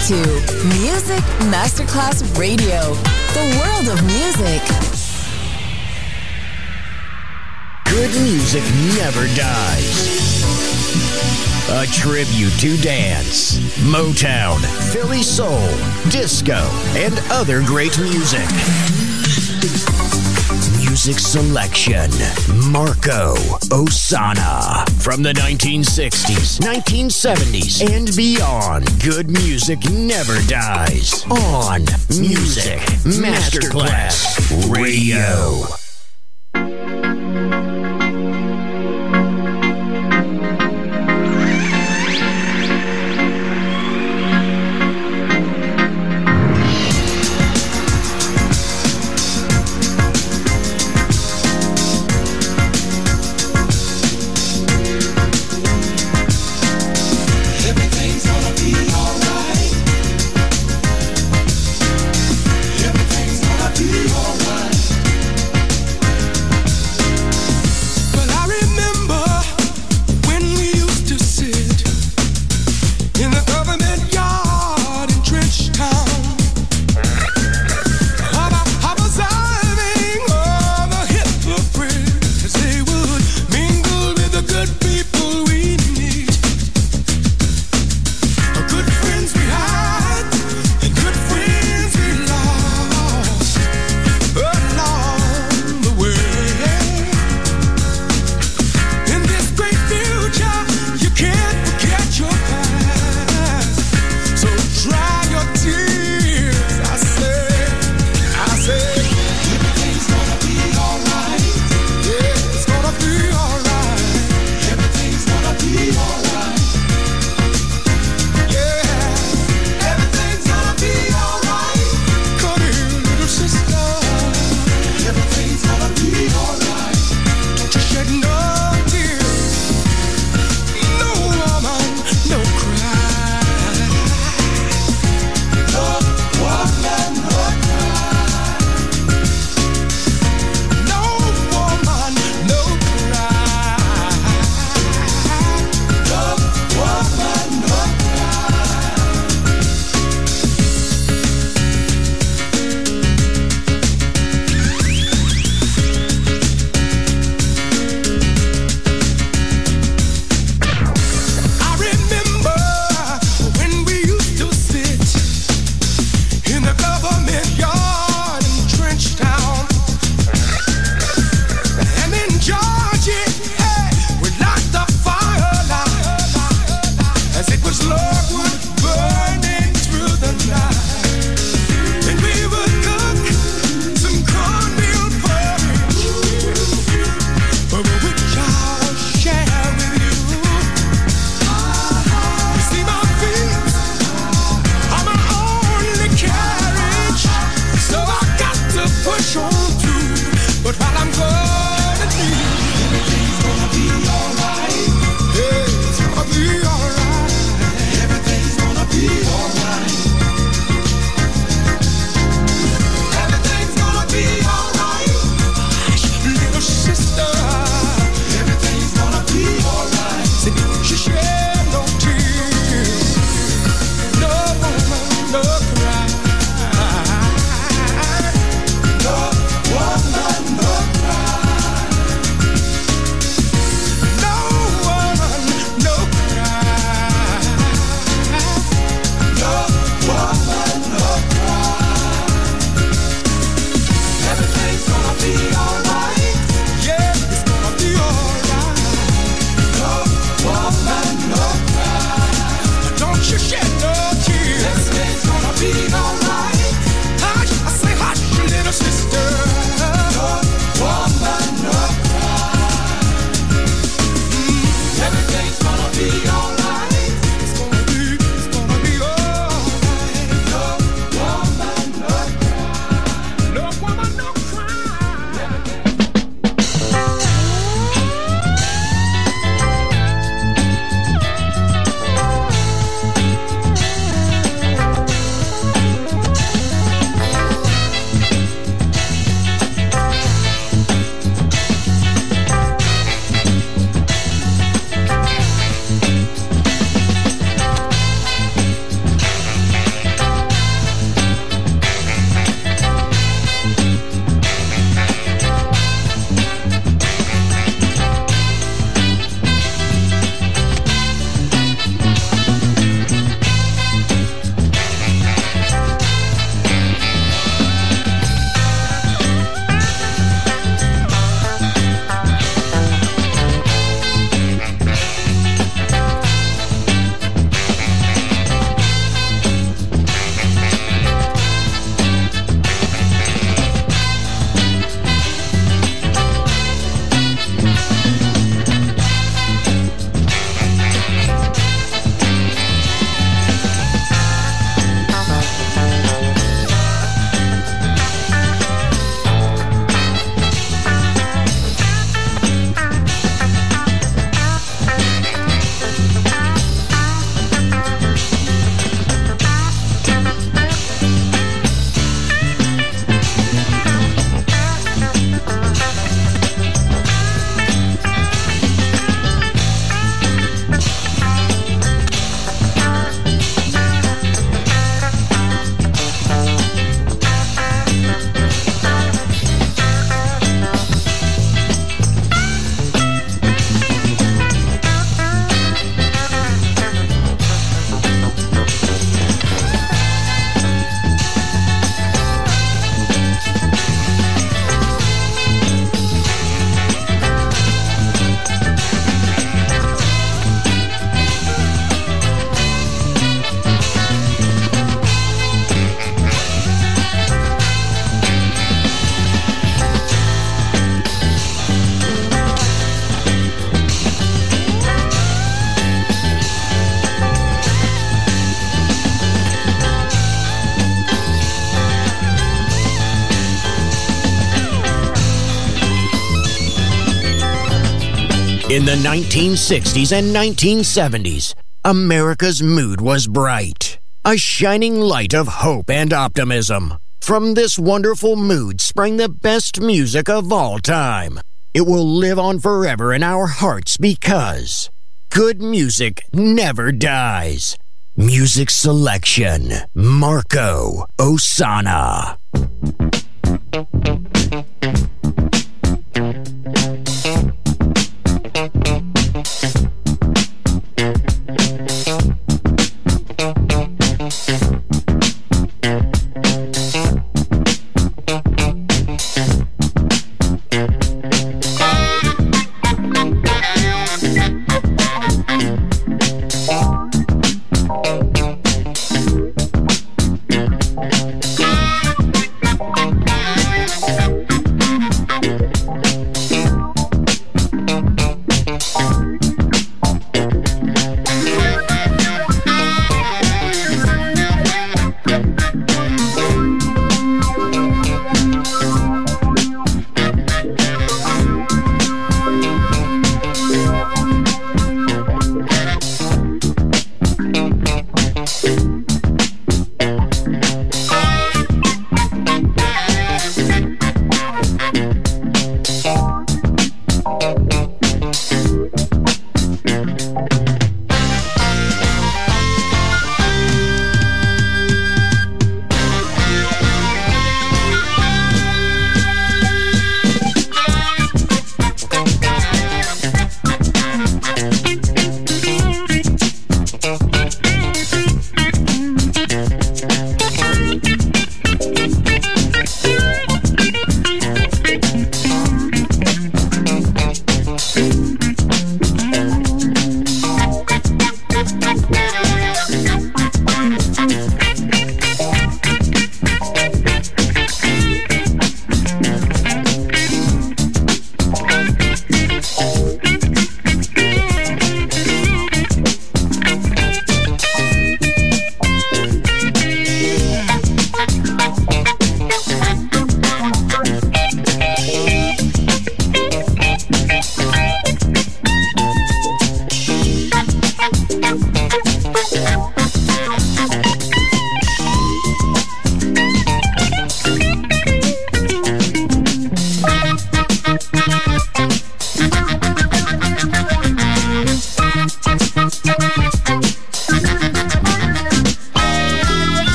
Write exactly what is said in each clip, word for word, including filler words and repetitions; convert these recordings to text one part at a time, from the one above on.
to Music Masterclass Radio, the world of music. Good music never dies. A tribute to dance, Motown, Philly soul, disco, and other great music. Music selection, Marco Ossanna. From the nineteen sixties, nineteen seventies, and beyond, good music never dies. On Music Masterclass Radio. In the nineteen sixties and nineteen seventies, America's mood was bright, a shining light of hope and optimism. From this wonderful mood sprang the best music of all time. It will live on forever in our hearts because good music never dies. Music selection, Marco Ossanna.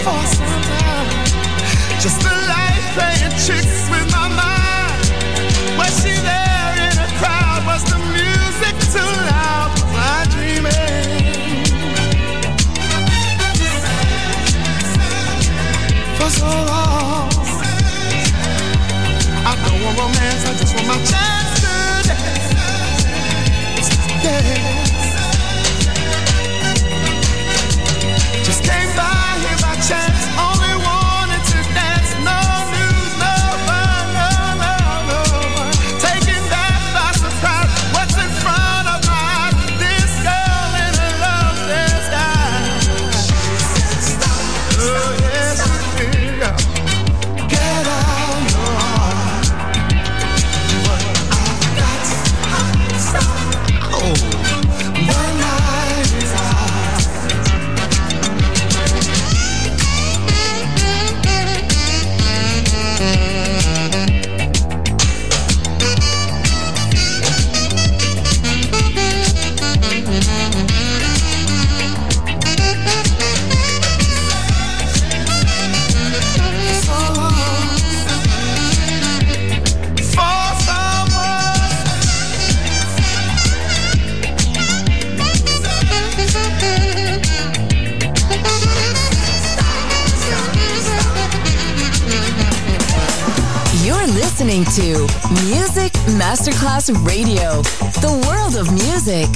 for some time. Just a light playing tricks with my mind. Was she there in a crowd? Was the music too loud? Was I dreaming? For so long I don't want romance, I just want my chance to dance. Dance. Just came by here by chance, only wanted to dance. No news, no fun, no, no, no fun. Taken back by surprise, what's in front of my eyes? This girl in a love disguise. Oh yes, you will. Get out your heart. What I've got, oh, the night is hot. You're listening to Music Masterclass Radio, the world of music.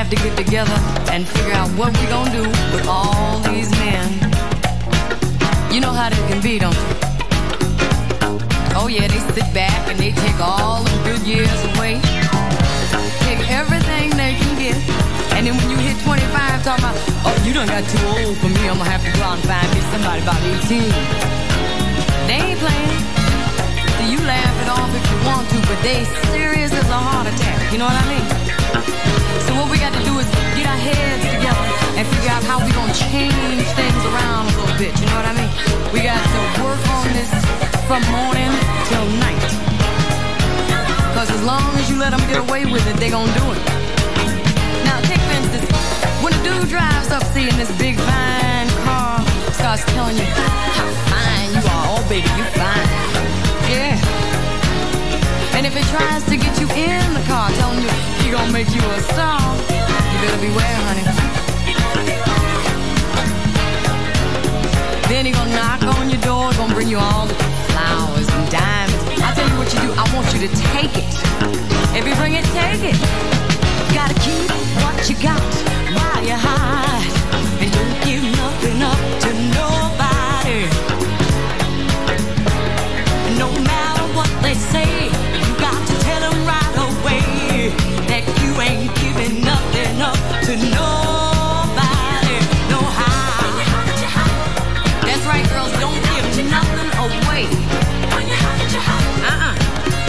have to get together and figure out what we gonna do with all these men. You know how that can be, don't you? Oh yeah, they sit back and they take all the good years away. Take everything they can get. And then when you hit twenty-five, talking about, oh, you done got too old for me, I'm gonna have to go out and find me somebody about eighteen. They ain't playing. So you laugh it off if you want to, but they serious as a heart attack, you know what I mean? So what we got to do is get our heads together and figure out how we gonna change things around a little bit, you know what I mean? We got to work on this from morning till night. Cause as long as you let them get away with it, they gonna do it. Now take for instance, when a dude drives up seeing this big fine car, starts telling you how fine you are, oh baby, you fine. Yeah. And if it tries to get you in the car, telling you he gonna make you a star, you better beware, honey. Then he gonna knock on your door, gonna bring you all the flowers and diamonds. I'll tell you what you do, I want you to take it. If you bring it, take it. Gotta keep what you got while you're high, and don't give nothing up to nobody. No matter what they say, you got to tell them right away that you ain't giving nothing up to nobody. No how. That's right, girls, don't give nothing away. Uh-uh.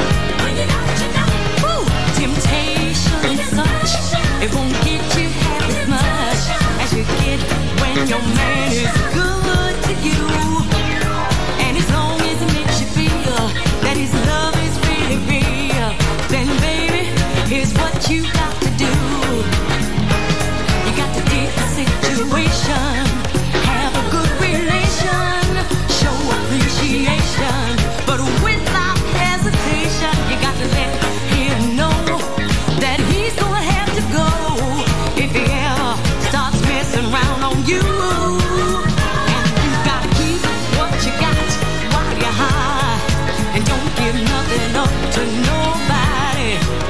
Woo. Temptation is such, it won't get you half as much as you get when your man is good to you. And as long as it makes you feel that his love is really real, then baby, here's what you got to do. You got to dig the situation, have a good relation, show appreciation, but without hesitation, you got to let him know that he's gonna have to go if he ever starts messing around on you. And you gotta keep what you got while you're high, and don't give nothing up to nobody.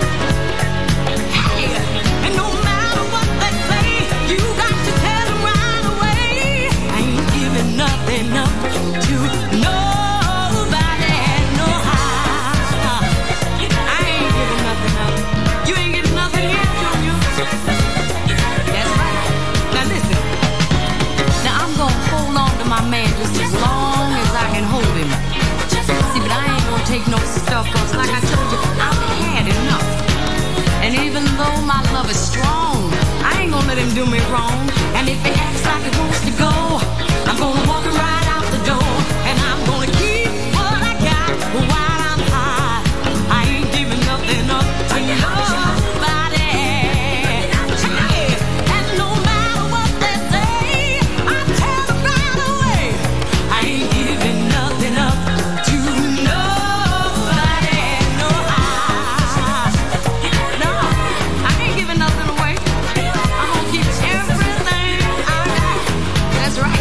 Hey, and no matter what they say, you got to tell them right away, I ain't giving nothing up to nobody. No how, I ain't giving nothing up. You ain't getting nothing yet, Junior. That's right. Now listen. Now I'm gonna hold on to my man just as long as I can hold him. See, but I ain't gonna take no stuff, cause like I told you, I've had enough. And even though my love is strong, I ain't gonna let him do me wrong. And if he acts like he wants to go, I'm gonna walk him right out the door. And I'm gonna keep what I got while I'm high. I ain't giving nothing up to nobody. Hey, and no matter what they say, I tell them right away, I ain't giving nothing up to nobody. No, I, no, I ain't giving nothing away. I'm gonna keep everything I got. That's right.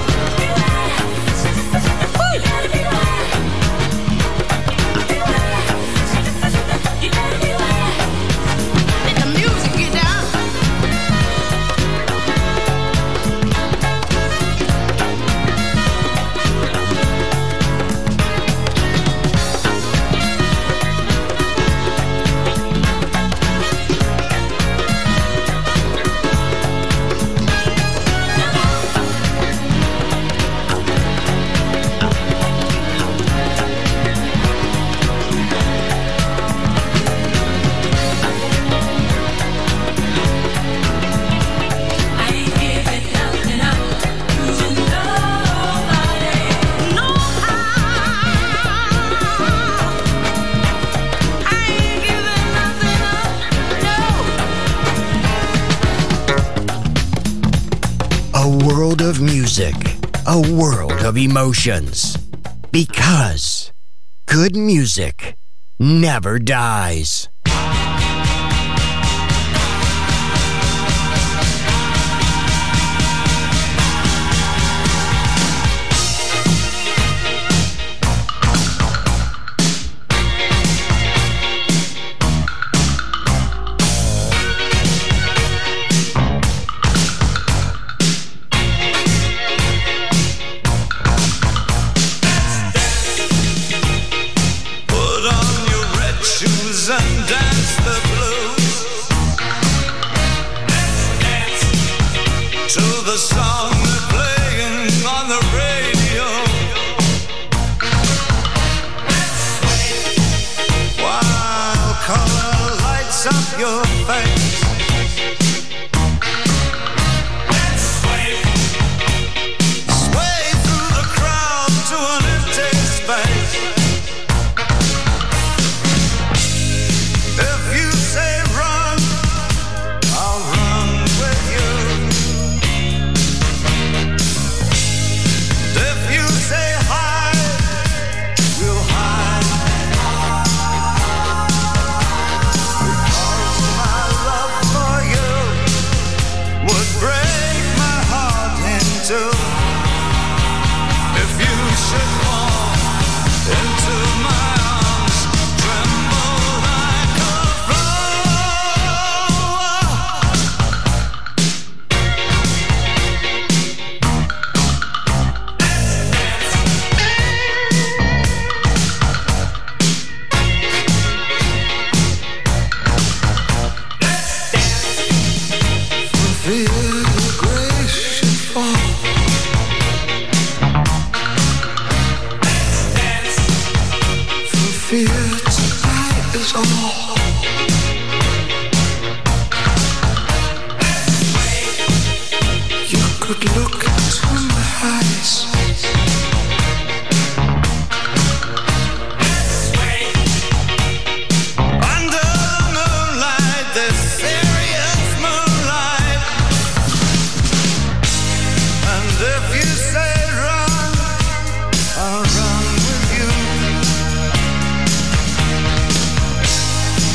Let the music get down. I ain't giving nothing up to nobody. No how. I ain't giving nothing up, no. A world of music, a world of emotions. Because good music never dies. your face. Let's sway, sway through the crowd to an empty space. If you say run, I'll run with you. If you say hide, we'll hide. Because my love for you would break my heart in two. If you should fall into my arms, tremble like a flower. For fear your grace should fall. For fear tonight is all. You could look into my eyes. Under the moonlight, this serious moonlight. And if you say run, I'll run with you.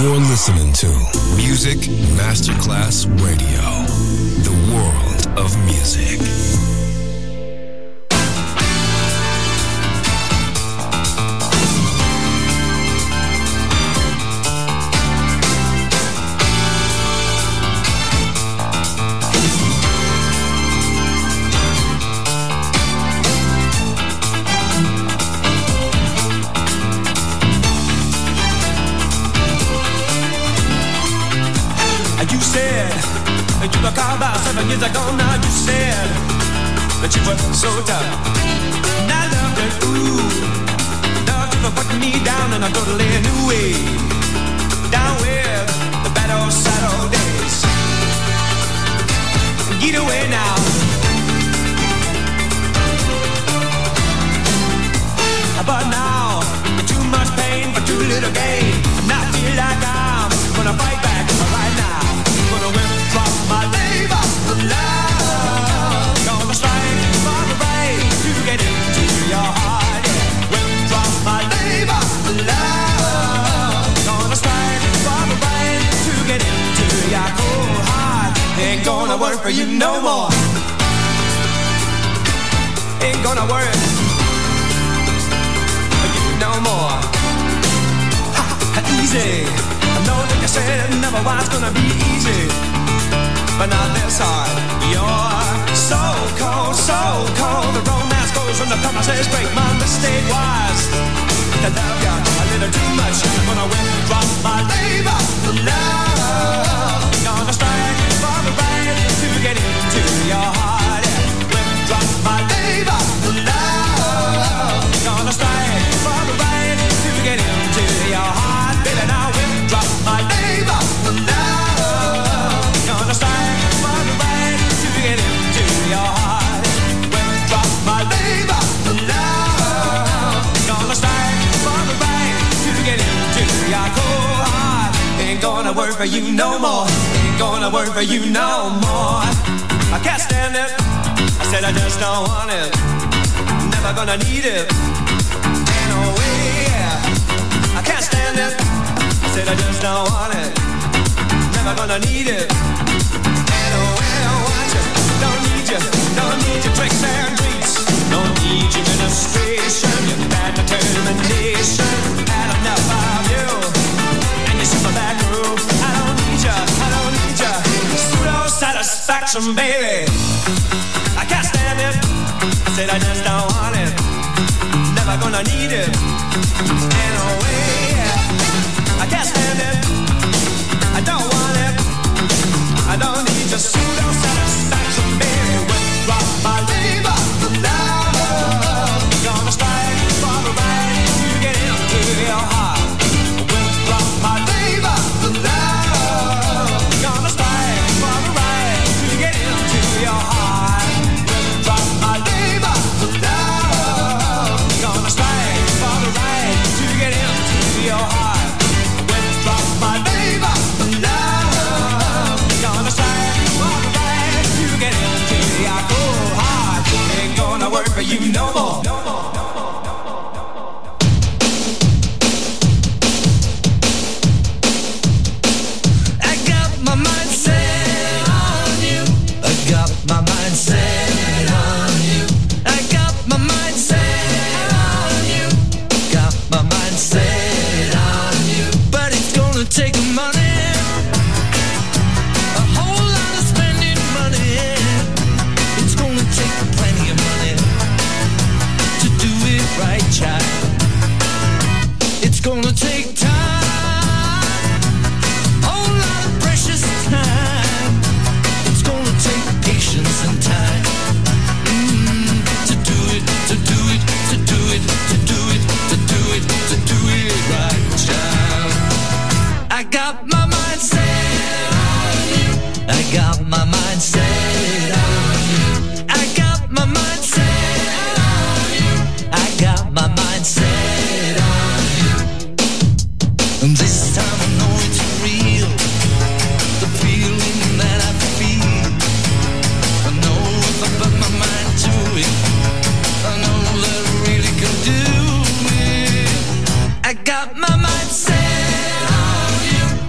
You're listening to Music Masterclass Radio, the world of music. You were called about seven years ago. Now you said that you were so tough, and I loved it. Ooh, love you for putting me down in a totally new way, down with the bad old sad old days. Get away now. But now too much pain for too little gain, and I feel like I'm gonna fight back right now. Gonna withdraw my labor of love. Gonna strike for the brain to get into your heart. Yeah. Withdraw my labor of love. Gonna strike for the brain to get into your cold heart. Ain't gonna work for you no more. Ain't gonna work for you no more. Ha, ha, easy. I know that you said it never was gonna be easy, but not this hard. You're so cold, so cold. The romance goes when the promises break. My mistake was to love you a little too much. I'm gonna withdraw my labor of love. Gonna strike for the right to get into your heart. Withdraw my labor of love. Gonna strike for the right to get into your heart. Baby, now withdraw my labor of love. Gonna strike for the right to get into your heart. Withdraw my labor of love. Gonna strike for the right to get into your cold heart. Ain't gonna work for you no more. Ain't gonna work for you no more. I can't stand it. I said I just don't want it. Never gonna need it. Ain't no way. I can't stand it. I said I just don't want it. Never gonna need it. Ain't no way I want you. Don't need you. Don't need your tricks and treats. Don't need your administration. Your bad determination. Had enough of you and your super back room. I don't need you. I don't need you. Pseudo satisfaction, baby. I can't stand it. I said I just don't want it. Never gonna need it. Ain't no way. I can't stand it. I don't want it. I don't need your pseudo satisfaction, baby. Withdraw my labor of love. Gonna strike for the right to get into your heart. Withdraw my labor of love. Gonna strike for the right to get into your heart. Withdraw my labor of love. Gonna strike for the right to get into your heart. Withdraw my labor of love. Gonna strike for the right to get into your cold heart. Ain't gonna work for you no more. No more. I got my mind set on you. I got my mind set on you. I got my mind set on you. Got my mind set on you. But it's gonna take money. A whole lot of spending money. It's gonna take plenty of money to do it right, child. It's gonna take time. Whole lot of precious time. It's gonna take patience and time. Mm, to do it, to do it, to do it, to do it, to do it, to do it right, child. I got my mind set on you. I got my mind set on you. I got my mind set on you. I got my mind set on you. And this time I know it's real. The feeling that I feel. I know if I put my mind to it, I know that I really can do it. I got my mind set on you.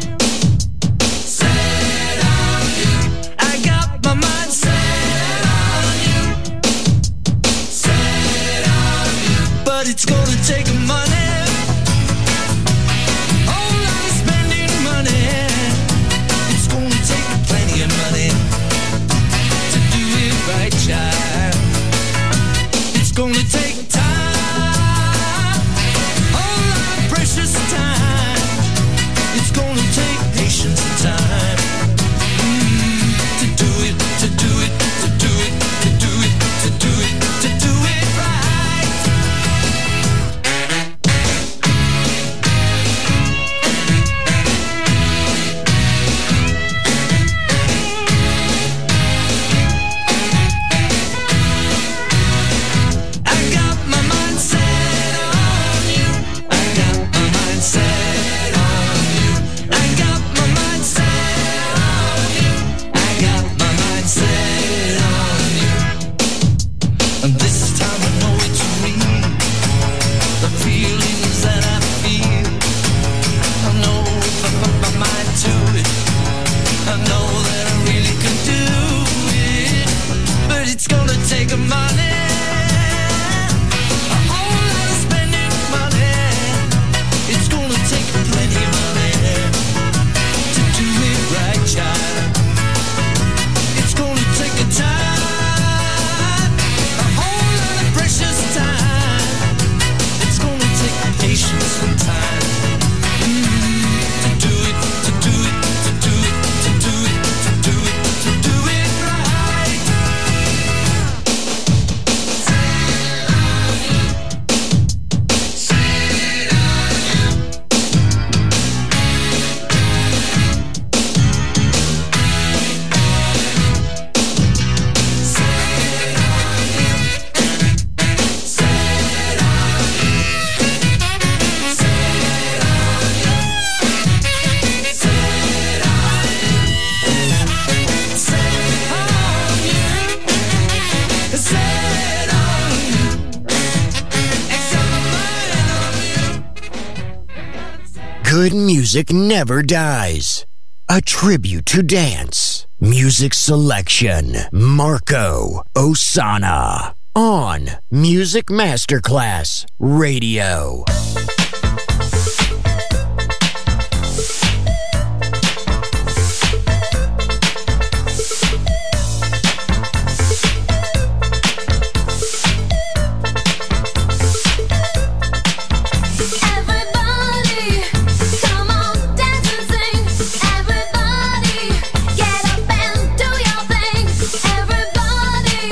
good music never dies. A tribute to dance. Music selection. Marco Ossanna. On Music Masterclass Radio.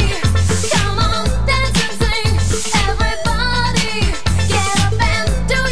Everybody, get up and do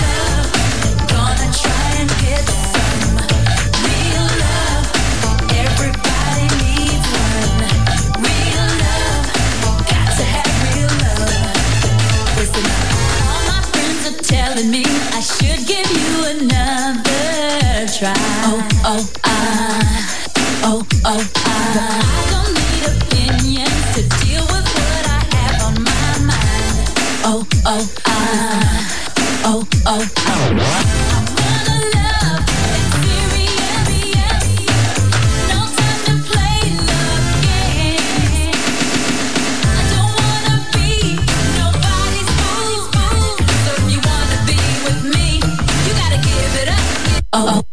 loving me, I should give you another try. Oh, oh, I, oh, oh, I. But I don't need opinions to deal with what I have on my mind. Oh, oh, I, oh, oh, I. Oh,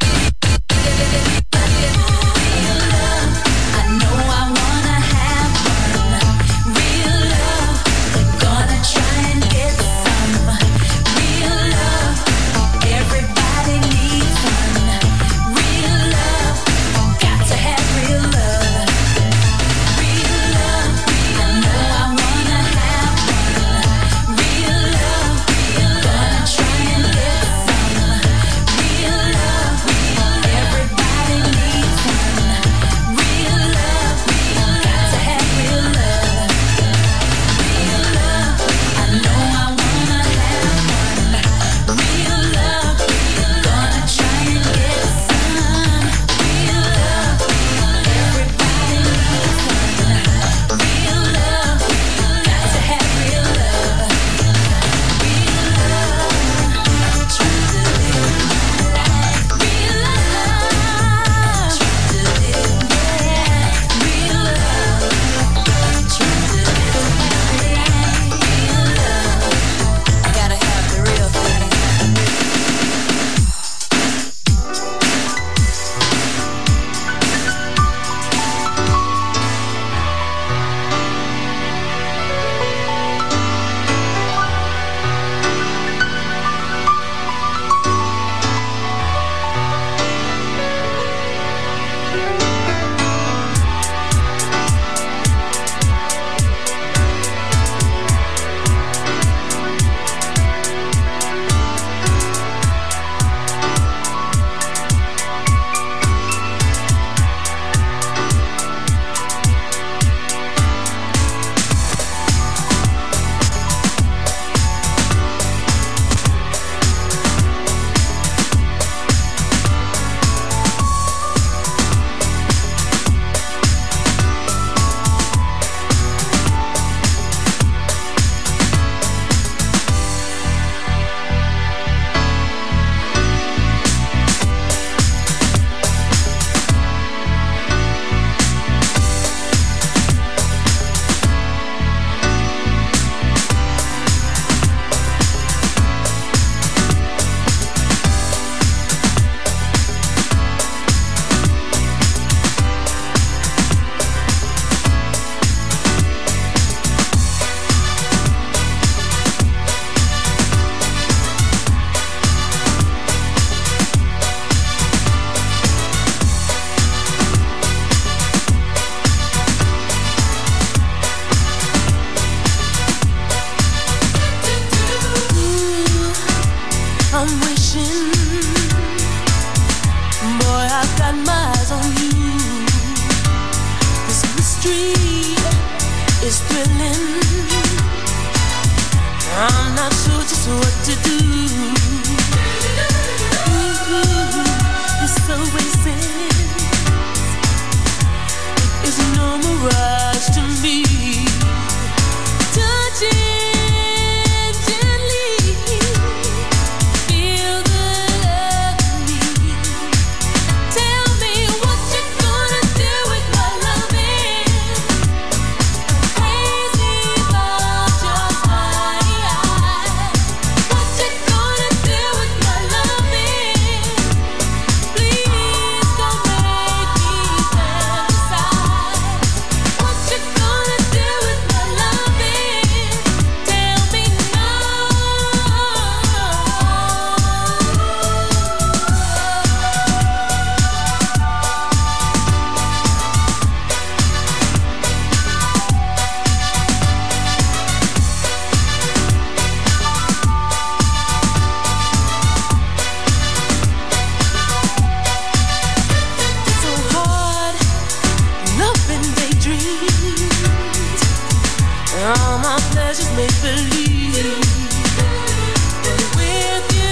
All my pleasures make believe, but with you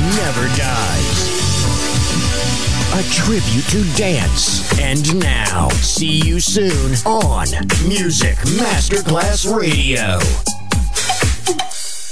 never dies. A tribute to dance. And now, see you soon on Music Masterclass Radio.